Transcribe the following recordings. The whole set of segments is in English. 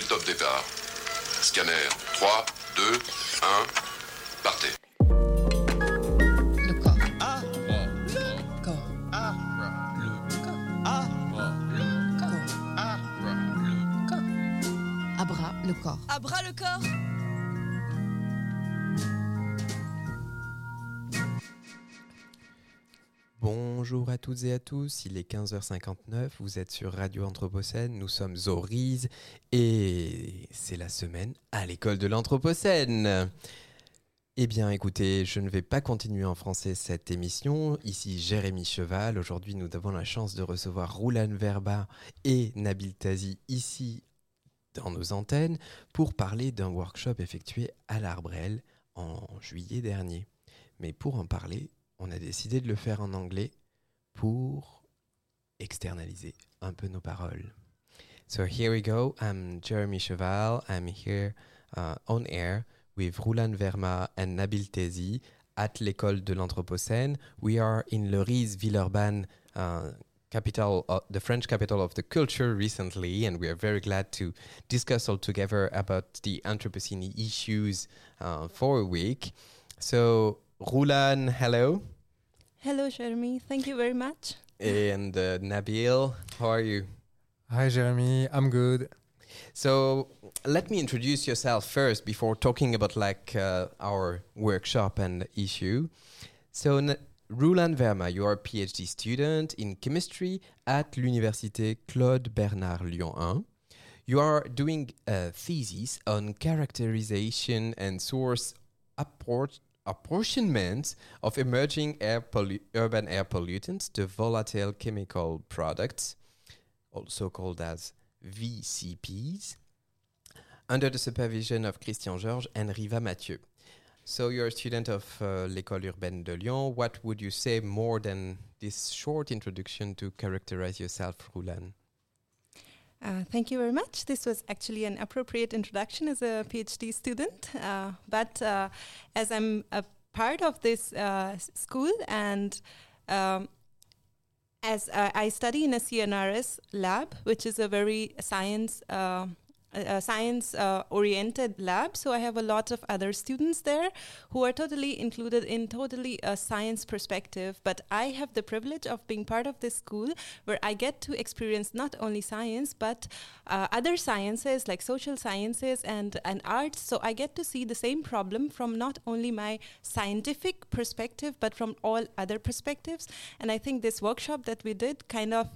le top départ. Scanner 3, 2, 1, partez. Le corps. Ah, Le corps. ah, Le corps. ah, Le corps. ah, Le corps. Abra le corps. À bras le corps. Bonjour à toutes et à tous, il est 15h59, vous êtes sur Radio Anthropocène, nous sommes au RISE et c'est la semaine à l'école de l'Anthropocène. Eh bien écoutez, je ne vais pas continuer en français cette émission, ici Jérémy Cheval, aujourd'hui nous avons la chance de recevoir Roulan Verba et Nabil Tazi ici dans nos antennes pour parler d'un workshop effectué à l'Arbrel en juillet dernier. Mais pour en parler, on a décidé de le faire en anglais pour externaliser un peu nos paroles. So here we go. I'm Jeremy Cheval. I'm here on air with Roulan Verma and Nabil Tazi at l'école de l'Anthropocène. We are in Le Riz, Villeurbanne, capital, the French capital of the culture recently, and we are very glad to discuss all together about the Anthropocene issues for a week. So Roulan, hello. Hello, Jeremy. Thank you very much. And Nabil, how are you? Hi, Jeremy. I'm good. So let me introduce yourself first before talking about our workshop and issue. So Roulan Verma, you are a PhD student in chemistry at l'Université Claude Bernard Lyon 1. You are doing a thesis on characterization and source apportionment of emerging urban air pollutants, the volatile chemical products, also called as VCPs, under the supervision of Christian Georges and Riva Mathieu. So you're a student of l'École urbaine de Lyon. What would you say more than this short introduction to characterize yourself, Roulan? Thank you very much. This was actually an appropriate introduction as a PhD student. But as I'm a part of this school and as I study in a CNRS lab, which is a very science-oriented lab. So I have a lot of other students there who are totally included in totally a science perspective. But I have the privilege of being part of this school where I get to experience not only science, but other sciences like social sciences and arts. So I get to see the same problem from not only my scientific perspective, but from all other perspectives. And I think this workshop that we did kind of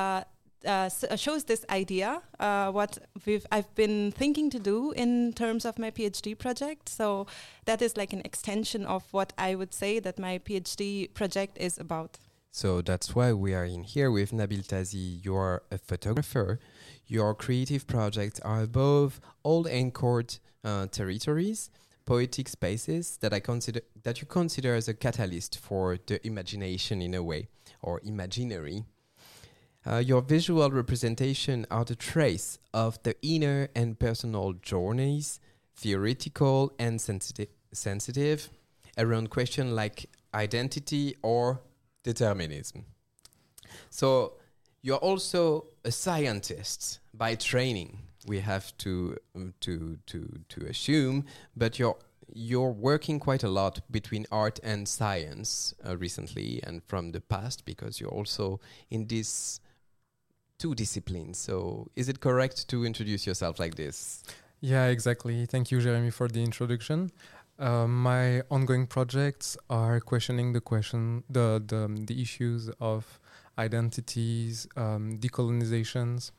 shows this idea, what I've been thinking to do in terms of my PhD project. So that is like an extension of what I would say that my PhD project is about. So that's why we are in here with Nabil Tazi. You are a photographer. Your creative projects are above all anchored territories, poetic spaces that you consider as a catalyst for the imagination in a way, or imaginary. Your visual representation are the trace of the inner and personal journeys, theoretical and sensitive, around questions like identity or determinism. So you're also a scientist by training. We have to assume, but you're working quite a lot between art and science recently and from the past, because you're also in these two disciplines. So is it correct to introduce yourself like this? Yeah, exactly. Thank you, Jeremy, for the introduction. My ongoing projects are questioning the issues of identities, decolonizations.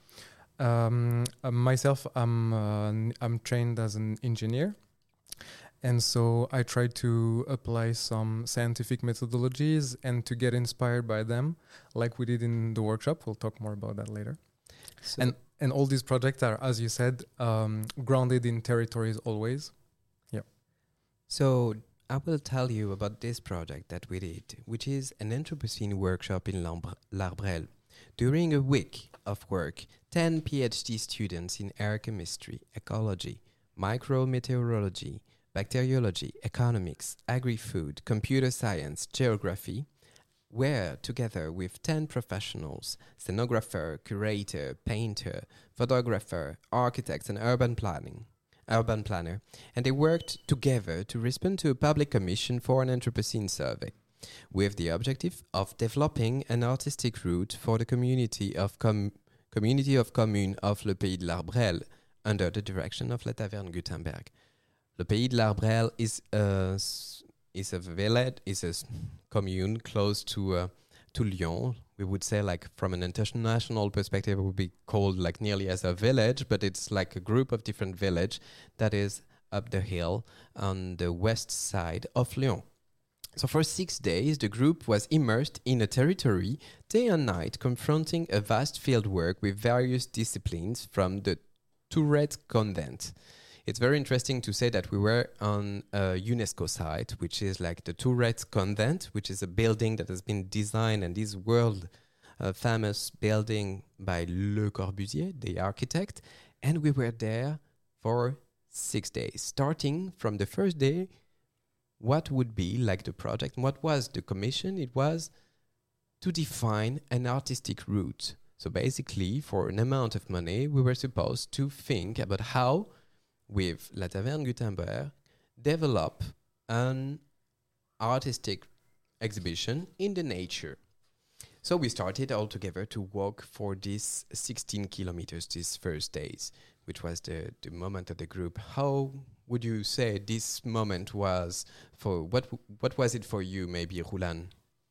Myself, I'm trained as an engineer. And so I try to apply some scientific methodologies and to get inspired by them, like we did in the workshop. We'll talk more about that later. So and all these projects are, as you said, grounded in territories always. Yeah. So I will tell you about this project that we did, which is an Anthropocene workshop in l'Arbrel. During a week of work, 10 PhD students in air chemistry, ecology, micrometeorology, bacteriology, economics, agri-food, computer science, geography, where, together with 10 professionals, scenographer, curator, painter, photographer, architects, and urban planner, and they worked together to respond to a public commission for an Anthropocene survey, with the objective of developing an artistic route for the community of communes of Le Pays de l'Arbrel under the direction of La Taverne Gutenberg. Le Pays de l'Arbrel is a village, is a commune close to Lyon. We would say, like, from an international perspective, it would be called like nearly as a village, but it's like a group of different villages that is up the hill on the west side of Lyon. So for 6 days, the group was immersed in a territory, day and night, confronting a vast field work with various disciplines from the Tourette Convent. It's very interesting to say that we were on a UNESCO site, which is like the Tourette Convent, which is a building that has been designed, and this world famous building by Le Corbusier, the architect. And we were there for 6 days, starting from the first day. What would be like the project? What was the commission? It was to define an artistic route. So basically, for an amount of money, we were supposed to think about how, with La Taverne Gutenberg, develop an artistic exhibition in the nature. So we started all together to walk for these 16 kilometers these first days, which was the moment of the group. How would you say this moment was for, what was it for you, maybe, Roulan?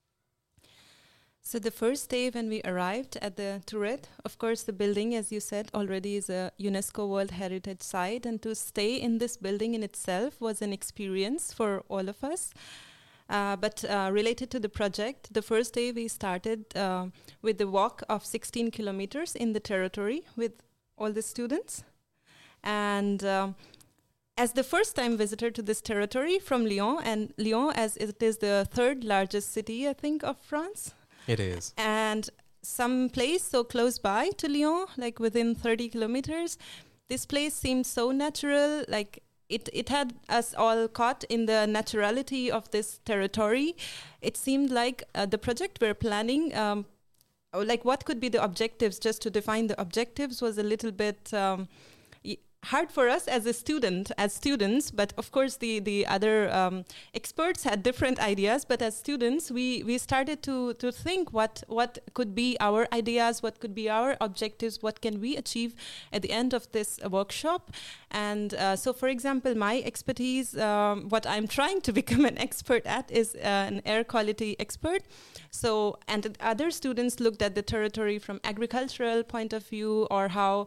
So the first day when we arrived at the Tourette, of course the building, as you said, already is a UNESCO World Heritage Site, and to stay in this building in itself was an experience for all of us. But related to the project, the first day we started with the walk of 16 kilometers in the territory with all the students. And as the first time visitor to this territory from Lyon, and Lyon as it is the third largest city, I think, of France. It is. And some place so close by to Lyon, like within 30 kilometers, this place seemed so natural, like it had us all caught in the naturality of this territory. It seemed like the project we're planning, like what could be the objectives, just to define the objectives was a little bit hard for us as students, but of course the other experts had different ideas. But as students, we started to think what could be our ideas, what could be our objectives, what can we achieve at the end of this workshop. And so, for example, my expertise, what I'm trying to become an expert at is an air quality expert. So, and other students looked at the territory from agricultural point of view, or how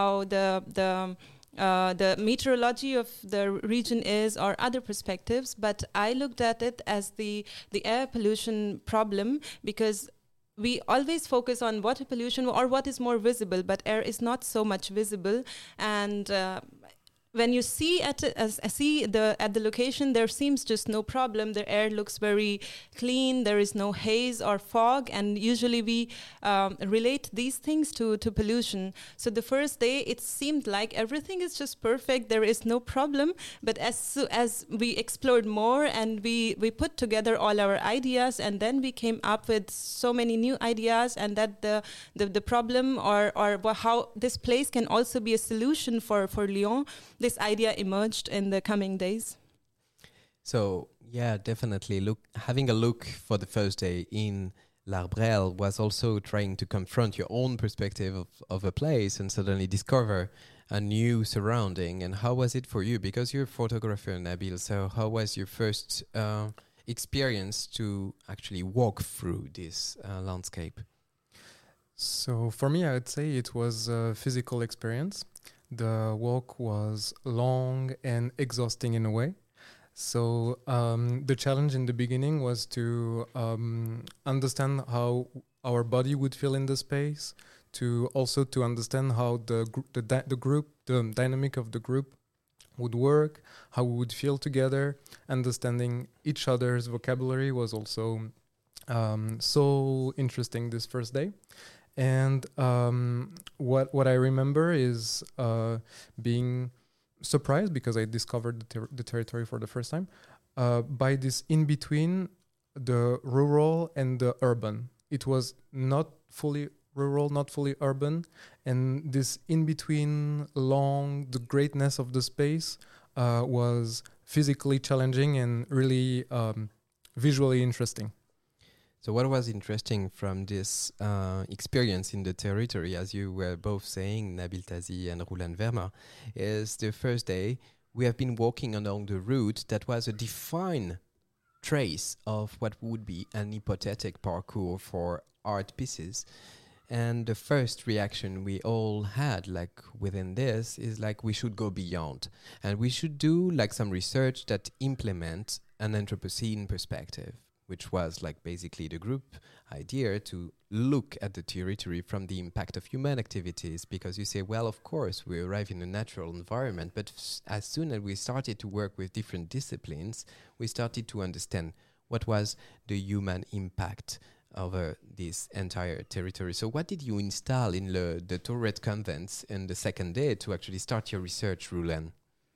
the meteorology of the region is, or other perspectives. But I looked at it as the air pollution problem, because we always focus on water pollution or what is more visible, but air is not so much visible. And when you see at the location, there seems just no problem. The air looks very clean. There is no haze or fog, and usually we relate these things to pollution. So the first day, it seemed like everything is just perfect. There is no problem. But as we explored more and we put together all our ideas, and then we came up with so many new ideas, and that the problem or how this place can also be a solution for Lyon. This idea emerged in the coming days. So, yeah, definitely. Having a look for the first day in L'Arbrel was also trying to confront your own perspective of a place and suddenly discover a new surrounding. And how was it for you? Because you're a photographer, Nabil, so how was your first experience to actually walk through this landscape? So for me, I would say it was a physical experience. The walk was long and exhausting in a way. So the challenge in the beginning was to understand how our body would feel in the space, to understand how the dynamic of the group would work, how we would feel together. Understanding each other's vocabulary was also so interesting this first day. And what I remember is being surprised, because I discovered the territory for the first time, by this in-between the rural and the urban. It was not fully rural, not fully urban, and this in between along the greatness of the space was physically challenging and really visually interesting. So what was interesting from this experience in the territory, as you were both saying, Nabil Tazi and Roland Verma, is the first day we have been walking along the route that was a defined trace of what would be an hypothetic parcours for art pieces. And the first reaction we all had, like within this, is like we should go beyond. And we should do like some research that implement an Anthropocene perspective, which was like basically the group idea to look at the territory from the impact of human activities. Because you say, well, of course, we arrive in a natural environment, but as soon as we started to work with different disciplines, we started to understand what was the human impact over this entire territory. So what did you install in the Tourette convents in the second day to actually start your research, Roland?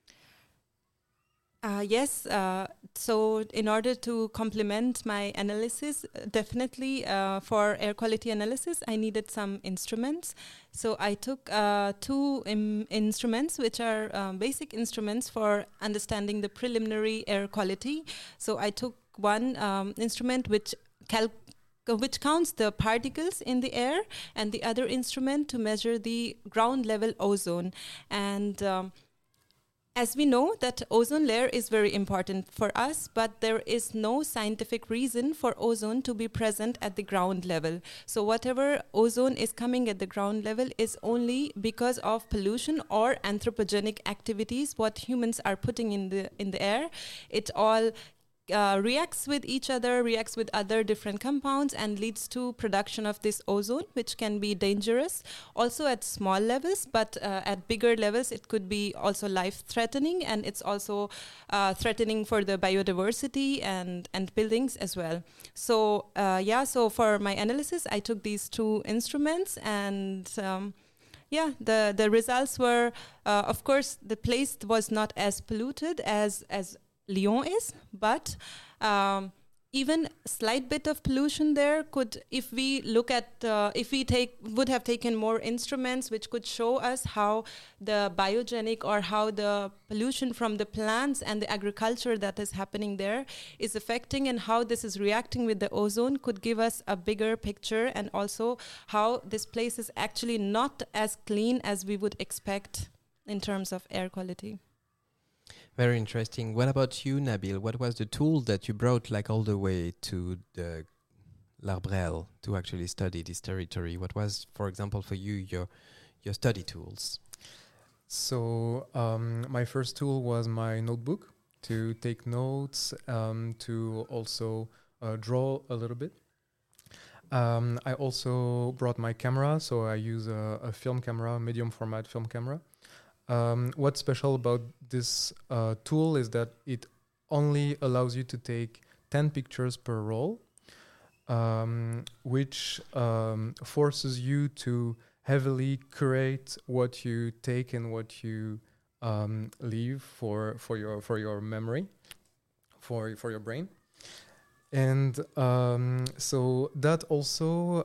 Yes, so in order to complement my analysis, definitely for air quality analysis, I needed some instruments. So I took two instruments, which are basic instruments for understanding the preliminary air quality. So I took one instrument which counts the particles in the air, and the other instrument to measure the ground level ozone. And as we know that ozone layer is very important for us, but there is no scientific reason for ozone to be present at the ground level. So whatever ozone is coming at the ground level is only because of pollution or anthropogenic activities, what humans are putting in the air. It all reacts with each other, reacts with other different compounds, and leads to production of this ozone, which can be dangerous also at small levels, but at bigger levels it could be also life-threatening, and it's also threatening for the biodiversity and buildings as well. So so for my analysis I took these two instruments, and the results were of course the place was not as polluted as Lyon is, but even a slight bit of pollution there could, if we look at, would have taken more instruments which could show us how the biogenic or how the pollution from the plants and the agriculture that is happening there is affecting, and how this is reacting with the ozone, could give us a bigger picture, and also how this place is actually not as clean as we would expect in terms of air quality. Very interesting. What about you, Nabil? What was the tool that you brought like all the way to the L'Arbrelle to actually study this territory? What was, for example, for you, your study tools? So my first tool was my notebook to take notes, to also draw a little bit. I also brought my camera, so I use a film camera, medium format film camera. What's special about this tool is that it only allows you to take 10 pictures per roll, which forces you to heavily curate what you take and what you leave for your memory, for your brain. And so that also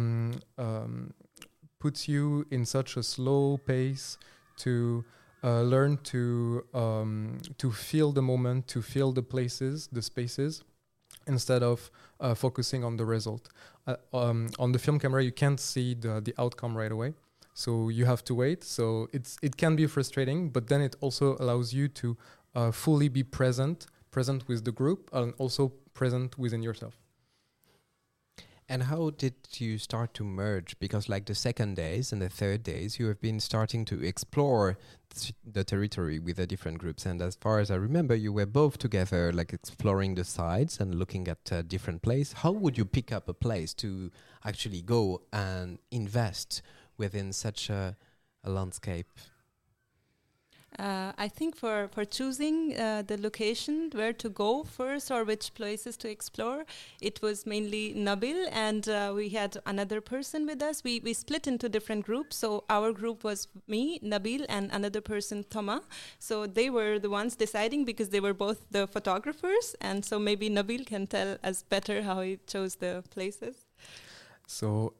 puts you in such a slow pace to learn to feel the moment, to feel the places, the spaces, instead of focusing on the result. On the film camera, you can't see the outcome right away, so you have to wait. So it can be frustrating, but then it also allows you to fully be present with the group, and also present within yourself. And how did you start to merge? Because like the second days and the third days, you have been starting to explore the territory with the different groups. And as far as I remember, you were both together, like exploring the sites and looking at different places. How would you pick up a place to actually go and invest within such a landscape? I think for choosing the location where to go first or which places to explore, it was mainly Nabil, and we had another person with us. We split into different groups. So our group was me, Nabil, and another person, Thomas. So they were the ones deciding because they were both the photographers. And so maybe Nabil can tell us better how he chose the places. So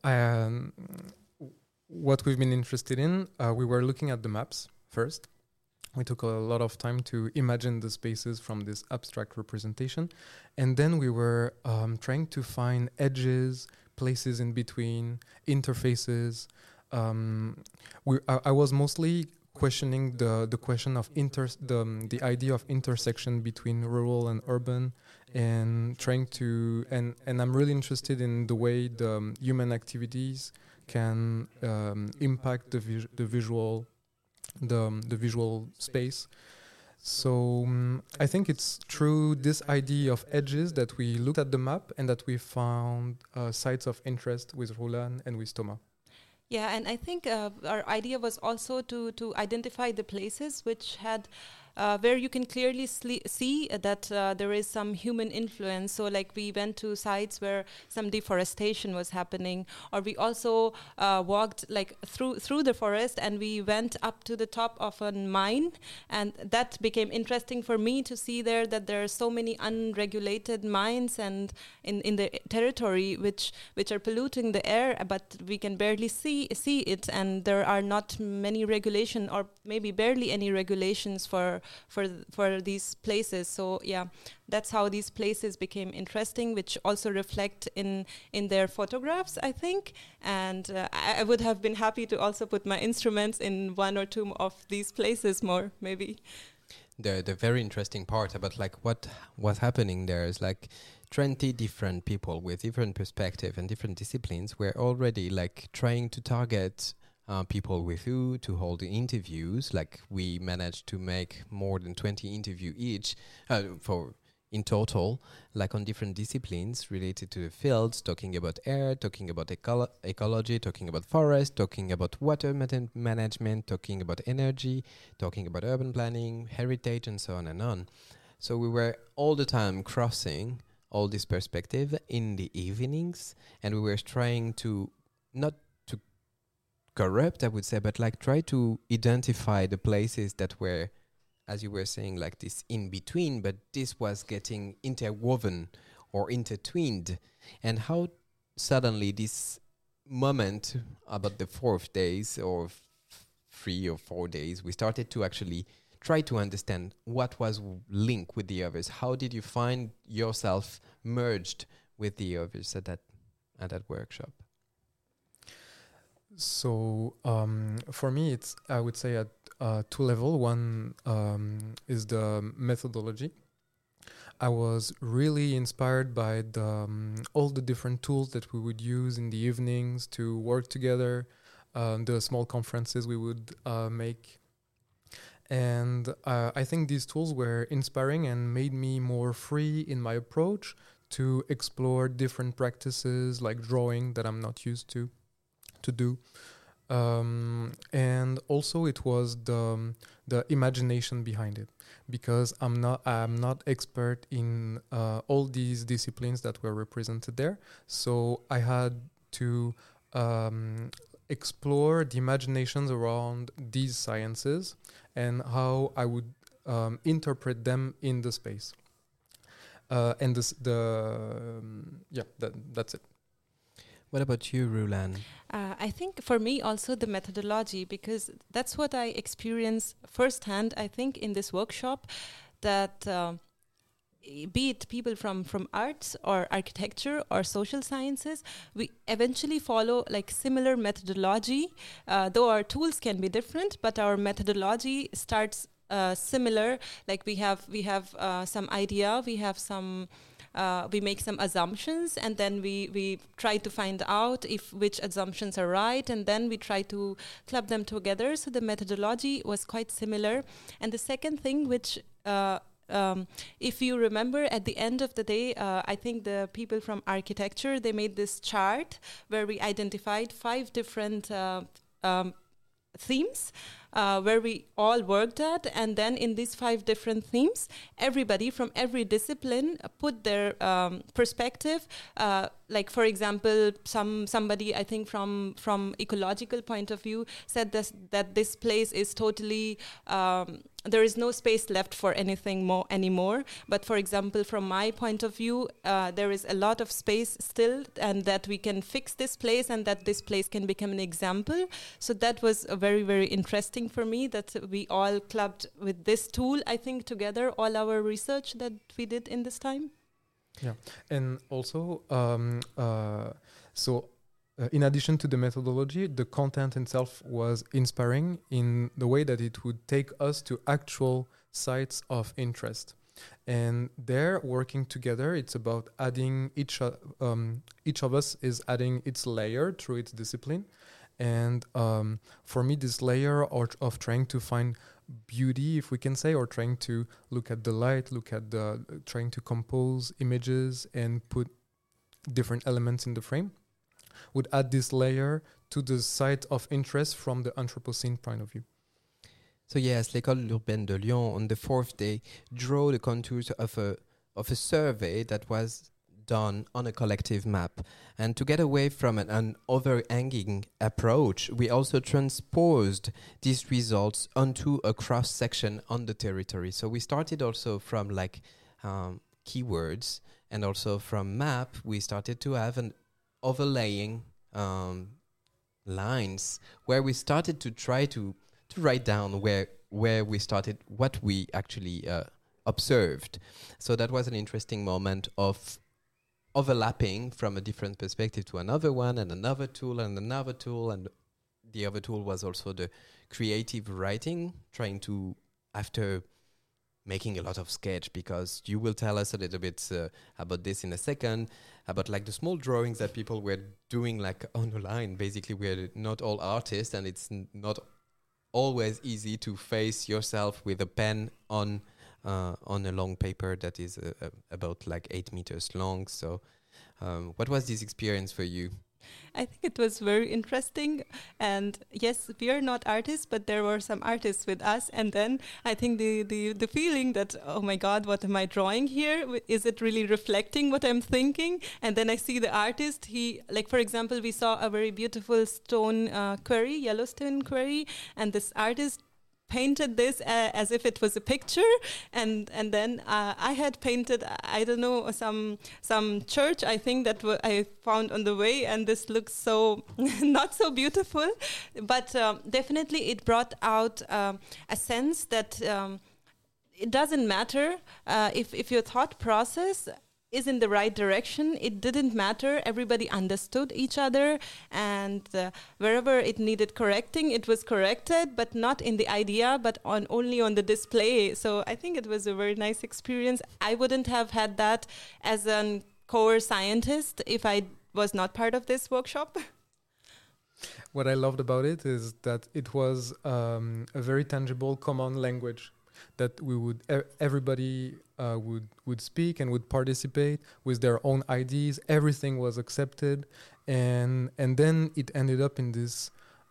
what we've been interested in, we were looking at the maps first. We took a lot of time to imagine the spaces from this abstract representation. And then we were trying to find edges, places in between, interfaces. I was mostly questioning the question of the idea of intersection between rural and urban, and trying to and I'm really interested in the way the human activities can impact the visual space. So I think it's through this idea of edges that we looked at the map and that we found sites of interest with Roland and with Thomas. Yeah, and I think our idea was also to identify the places which had where you can clearly see that there is some human influence. So like we went to sites where some deforestation was happening, or we also walked like through the forest, and we went up to the top of a mine, and that became interesting for me to see there that there are so many unregulated mines and in the territory which are polluting the air, but we can barely see it, and there are not many regulation, or maybe barely any regulations for these places. So yeah, that's how these places became interesting, which also reflect in their photographs, I think. And I would have been happy to also put my instruments in one or two of these places more, maybe. The very interesting part about like what was happening there is like 20 different people with different perspective and different disciplines were already like trying to target people with who to hold the interviews. Like we managed to make more than 20 interviews each for in total, like on different disciplines related to the fields, talking about air, talking about ecology, talking about forest, talking about water management, talking about energy, talking about urban planning, heritage, and so on and on. So we were all the time crossing all this perspective in the evenings, and we were trying to not to corrupt, I would say, but like try to identify the places that were, as you were saying, like this in between, but this was getting interwoven or intertwined. And how suddenly this moment about the 4 days or 3 or 4 days, we started to actually try to understand what was linked with the others. How did you find yourself merged with the others at that workshop? So for me, it's, I would say, at two levels. One is the methodology. I was really inspired by all the different tools that we would use in the evenings to work together, the small conferences we would make. And I think these tools were inspiring and made me more free in my approach to explore different practices like drawing that I'm not used to do. And also it was the imagination behind it, because I'm not expert in all these disciplines that were represented there. So I had to explore the imaginations around these sciences and how I would interpret them in the space. And that's it. What about you, Roland? I think for me also the methodology, because that's what I experienced firsthand, I think, in this workshop, that be it people from arts or architecture or social sciences, we eventually follow like similar methodology, though our tools can be different, but our methodology starts similar. Like we have some idea, we have some we make some assumptions, and then we try to find out which assumptions are right, and then we try to club them together. So the methodology was quite similar. And the second thing, which if you remember, at the end of the day, I think the people from architecture, they made this chart where we identified 5 different themes where we all worked at. And then in these 5 different themes, everybody from every discipline put their perspective. Like, for example, somebody, I think from ecological point of view, said that this place is totally... there is no space left for anything more anymore. But for example, from my point of view, there is a lot of space still, and that we can fix this place and that this place can become an example. So that was very, very interesting for me, that we all clubbed with this tool, I think, together, all our research that we did in this time. Yeah, and also, in addition to the methodology, the content itself was inspiring in the way that it would take us to actual sites of interest. And there, working together, it's about adding each of us is adding its layer through its discipline. And for me, this layer of trying to find beauty, if we can say, or trying to look at the light, trying to compose images and put different elements in the frame, would add this layer to the site of interest from the Anthropocene point of view. So yes, l'École urbaine de Lyon on the 4th day drew the contours of a survey that was done on a collective map. And to get away from an overhanging approach, we also transposed these results onto a cross-section on the territory. So we started also from keywords, and also from map, we started to have an overlaying lines where we started to try to write down where we started, what we actually observed. So that was an interesting moment of overlapping from a different perspective to another one, and another tool and another tool. And the other tool was also the creative writing, trying to, after making a lot of sketch, because you will tell us a little bit about this in a second, about like the small drawings that people were doing like on the line. Basically, we're not all artists, and it's not always easy to face yourself with a pen on a long paper that is about like 8 meters long. So what was this experience for you? I think it was very interesting. And yes, we are not artists, but there were some artists with us. And then I think the feeling that, oh my God, what am I drawing here? Is it really reflecting what I'm thinking? And then I see the artist, for example, we saw a very beautiful stone quarry, Yellowstone quarry. And this artist painted this as if it was a picture, and then I had painted, I don't know, some church, I think, that I found on the way, and this looks so not so beautiful, but definitely it brought out a sense that it doesn't matter if your thought process is in the right direction. It didn't matter. Everybody understood each other, and wherever it needed correcting, it was corrected, but not in the idea, but only on the display. So I think it was a very nice experience. I wouldn't have had that as a core scientist if I was not part of this workshop. What I loved about it is that it was a very tangible common language that we would everybody would speak and would participate with their own ideas. Everything was accepted, and then it ended up in this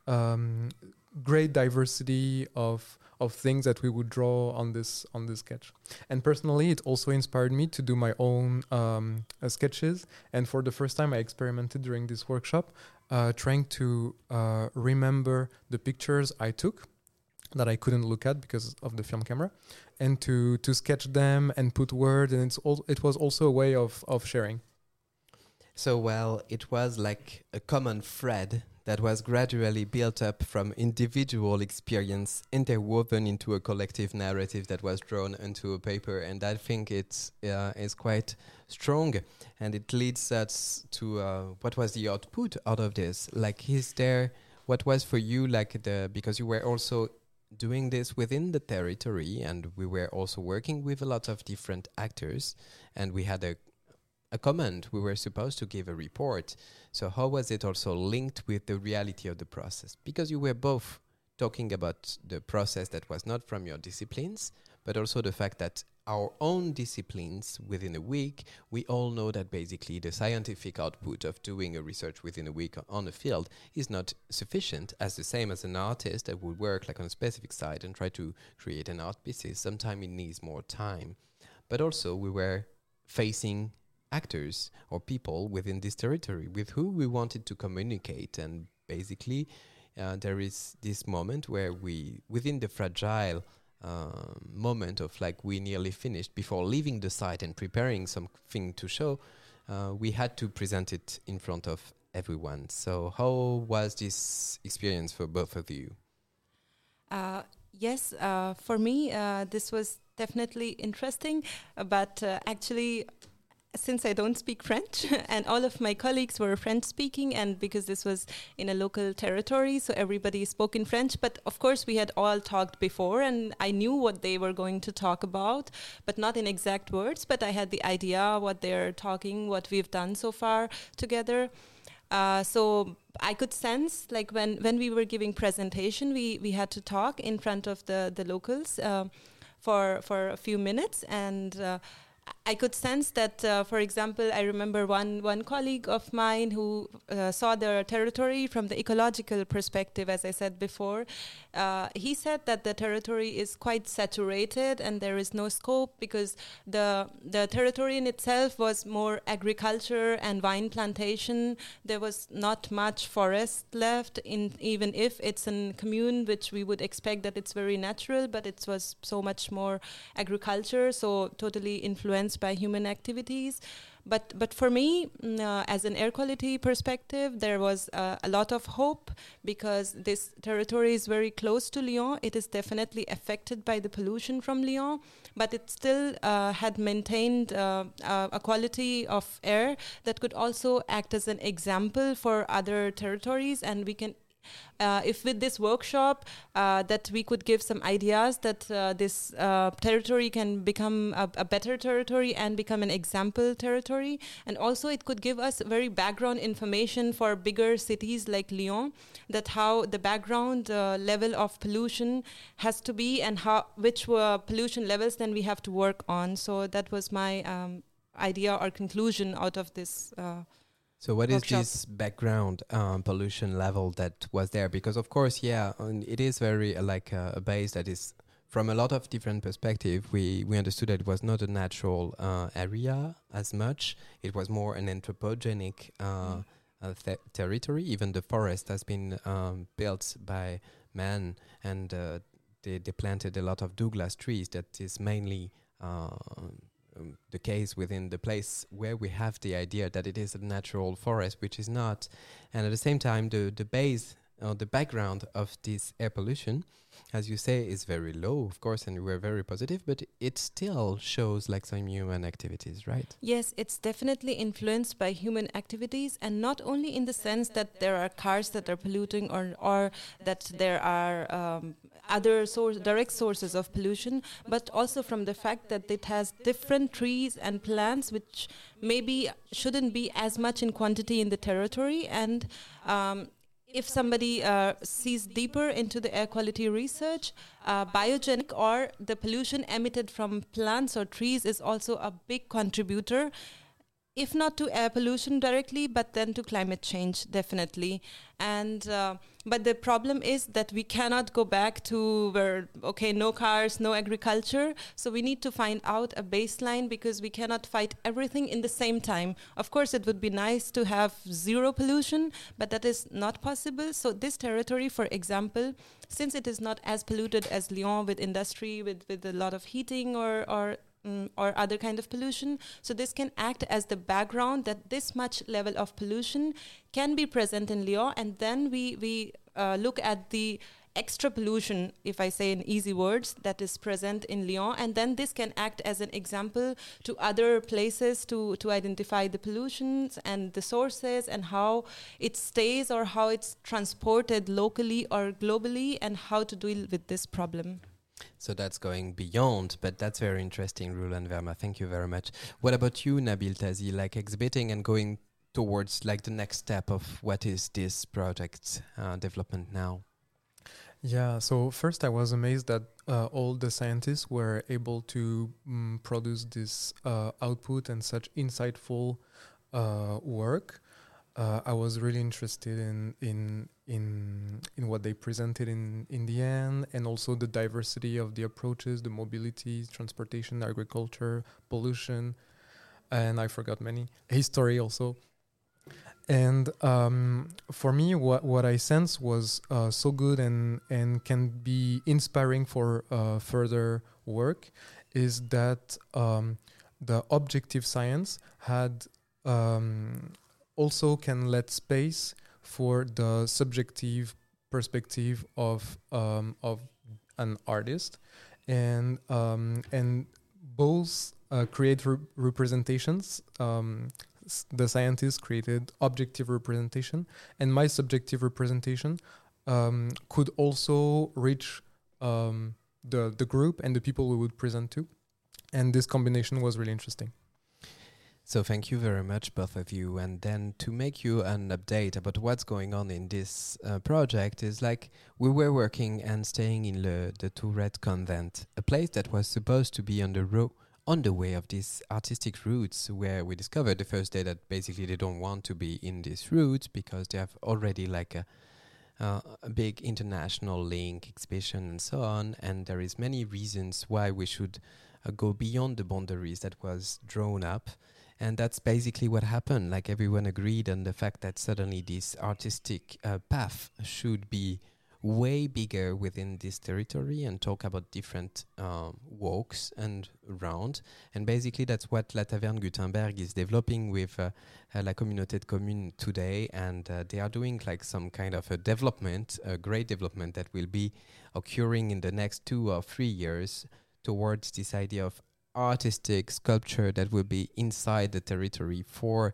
great diversity of things that we would draw on this sketch. And personally, it also inspired me to do my own sketches. And for the first time, I experimented during this workshop, trying to remember the pictures I took that I couldn't look at because of the film camera, and to sketch them and put words, and it was also a way of sharing. So, well, it was like a common thread that was gradually built up from individual experience interwoven into a collective narrative that was drawn into a paper. And I think it's is quite strong, and it leads us to what was the output out of this? Like, what was for you because you were also doing this within the territory, and we were also working with a lot of different actors, and we had a comment. We were supposed to give a report. So how was it also linked with the reality of the process? Because you were both talking about the process that was not from your disciplines, but also the fact that our own disciplines within a week, we all know that basically the scientific output of doing a research within a week on a field is not sufficient, as the same as an artist that would work like on a specific site and try to create an art piece. Sometimes it needs more time. But also we were facing actors or people within this territory with who we wanted to communicate, and basically there is this moment where we, within the fragile moment of like we nearly finished before leaving the site and preparing something to show, we had to present it in front of everyone. So how was this experience for both of you? Yes, for me, this was definitely interesting, but actually, since I don't speak French and all of my colleagues were French speaking, and because this was in a local territory, so everybody spoke in French, but of course we had all talked before and I knew what they were going to talk about, but not in exact words, but I had the idea what they're talking, what we've done so far together. So I could sense, like when we were giving presentation, we had to talk in front of the locals for a few minutes, and I could sense that, for example, I remember one colleague of mine who saw the territory from the ecological perspective, as I said before. He said that the territory is quite saturated and there is no scope because the territory in itself was more agriculture and wine plantation. There was not much forest left, even if it's a commune which we would expect that it's very natural, but it was so much more agriculture, so totally influenced by human activities. But for me, as an air quality perspective, there was a lot of hope because this territory is very close to Lyon. It is definitely affected by the pollution from Lyon, but it still had maintained a quality of air that could also act as an example for other territories. And we can if with this workshop that we could give some ideas that this territory can become a better territory and become an example territory, and also it could give us very background information for bigger cities like Lyon, that how the background level of pollution has to be and which pollution levels then we have to work on. So that was my idea or conclusion out of this So what is workshop. this background pollution level that was there? Because of course, it is very like a base that is from a lot of different perspectives. We understood that it was not a natural area as much. It was more an anthropogenic territory. Even the forest has been built by man, and they planted a lot of Douglas trees. That is mainly the case within the place where we have the idea that it is a natural forest, which is not. And at the same time, the base or the background of this air pollution, as you say, is very low, of course, and we're very positive, but it still shows like some human activities, right? Yes, it's definitely influenced by human activities, and not only in the sense that there are cars that are polluting or that there are other direct sources of pollution, but also from the fact that it has different trees and plants which maybe shouldn't be as much in quantity in the territory. And if somebody sees deeper into the air quality research, biogenic or the pollution emitted from plants or trees is also a big contributor, if not to air pollution directly, but then to climate change, definitely. And but the problem is that we cannot go back to where, no cars, no agriculture. So we need to find out a baseline, because we cannot fight everything in the same time. Of course, it would be nice to have zero pollution, but that is not possible. So this territory, for example, since it is not as polluted as Lyon with industry, with a lot of heating or other kind of pollution. So this can act as the background that this much level of pollution can be present in Lyon, and then we look at the extra pollution, if I say in easy words, that is present in Lyon, and then this can act as an example to other places to identify the pollutions and the sources and how it stays or how it's transported locally or globally, and how to deal with this problem. So that's going beyond, but that's very interesting, Roland Verma. Thank you very much. What about you, Nabil Tazi, like exhibiting and going towards like the next step of what is this project development now? Yeah, so first I was amazed that all the scientists were able to produce this output and such insightful work. I was really interested in what they presented in the end, and also the diversity of the approaches, the mobility, transportation, agriculture, pollution, and I forgot many, history also. And for me, what I sense was so good and can be inspiring for further work is that the objective science had also can let space for the subjective perspective of an artist, and both create representations. The scientists created objective representation, and my subjective representation could also reach the group and the people we would present to, and this combination was really interesting. So thank you very much, both of you. And then to make you an update about what's going on in this project is like we were working and staying in the Tourette convent, a place that was supposed to be on the way of these artistic routes, where we discovered the first day that basically they don't want to be in these routes because they have already like a big international link, exhibition and so on. And there is many reasons why we should go beyond the boundaries that was drawn up. And that's basically what happened. Like everyone agreed on the fact that suddenly this artistic path should be way bigger within this territory and talk about different walks and round. And basically that's what La Taverne Gutenberg is developing with La Communauté de Communes today. And they are doing like some kind of a development, a great development that will be occurring in the next 2 or 3 years towards this idea of artistic sculpture that will be inside the territory for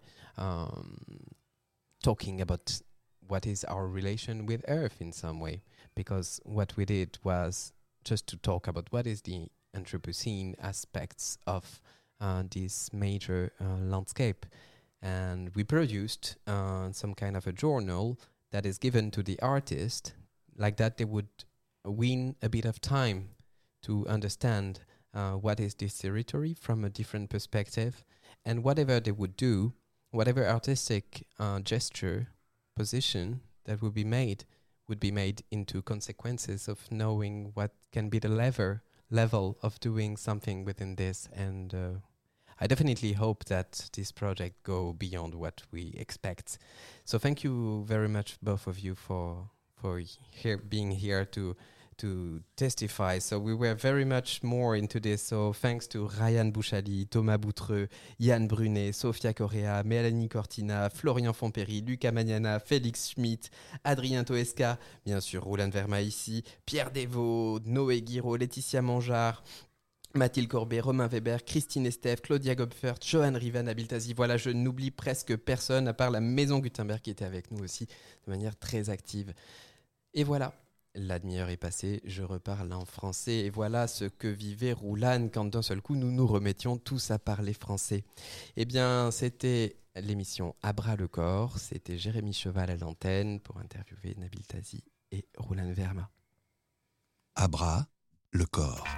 talking about what is our relation with Earth in some way. Because what we did was just to talk about what is the Anthropocene aspects of this major landscape. And we produced some kind of a journal that is given to the artist, like that they would win a bit of time to understand what is this territory from a different perspective, and whatever they would do, whatever artistic gesture, position that would be made into consequences of knowing what can be the level of doing something within this. And I definitely hope that this project go beyond what we expect. So thank you very much, both of you, for being here to testify. So we were very much more into this. So thanks to Ryan Bouchali, Thomas Boutreux, Yann Brunet, Sofia Correa, Mélanie Cortina, Florian Fontpéry, Lucas Magnana, Félix Schmitt, Adrien Toesca, bien sûr Roland Verma ici, Pierre Desvaux, Noé Guiraud, Laetitia Mangeard, Mathilde Corbet, Romain Weber, Christine Estève, Claudia Gobfert, Johan Rivan, Nabil Tazi. Voilà, je n'oublie presque personne à part la Maison Gutenberg qui était avec nous aussi de manière très active. Et voilà. La demi-heure est passée, je reparle en français et voilà ce que vivait Roulane quand d'un seul coup nous nous remettions tous à parler français. Eh bien, c'était l'émission À bras le corps, c'était Jérémy Cheval à l'antenne pour interviewer Nabil Tazi et Roulane Verma. À bras le corps.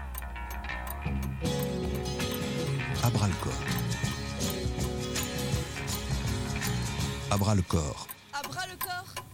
À bras le corps. À bras le corps. À bras le corps.